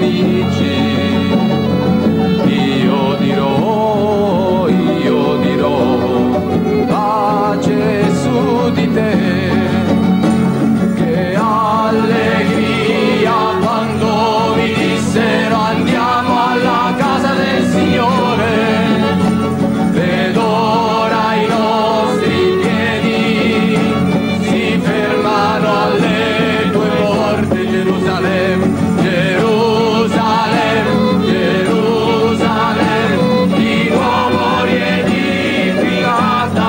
amici. Io dirò, pace su di te, che allegria quando vi dissero andiamo alla casa del Signore. Ed ora i nostri piedi si fermano alle tue porte, Gerusalemme, Gerusalemme, Gerusalemme, di nuovo riedificata.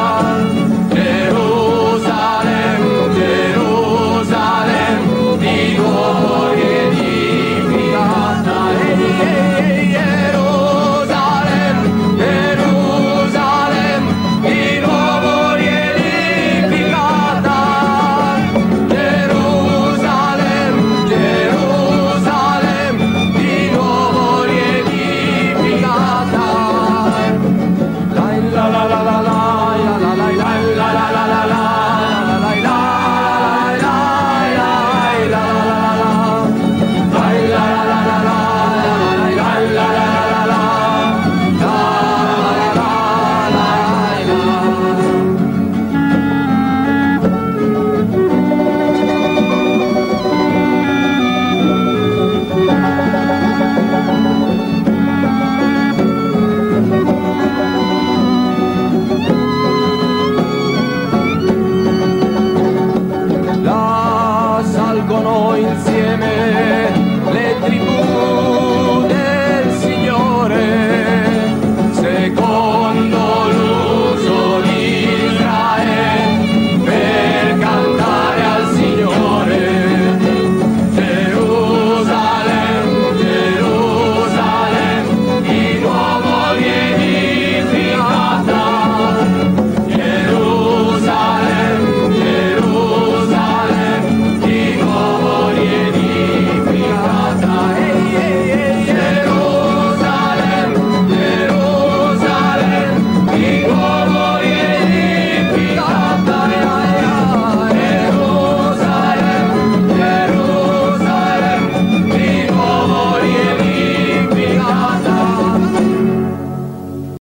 Gerusalemme, Gerusalemme, di nuovo riedificata. Gerusalemme, Gerusalemme, di nuovo riedificata. Gerusalemme, Gerusalemme, di nuovo riedificata. La la la la la la la la la la la la la la. Là salgono insieme le tribù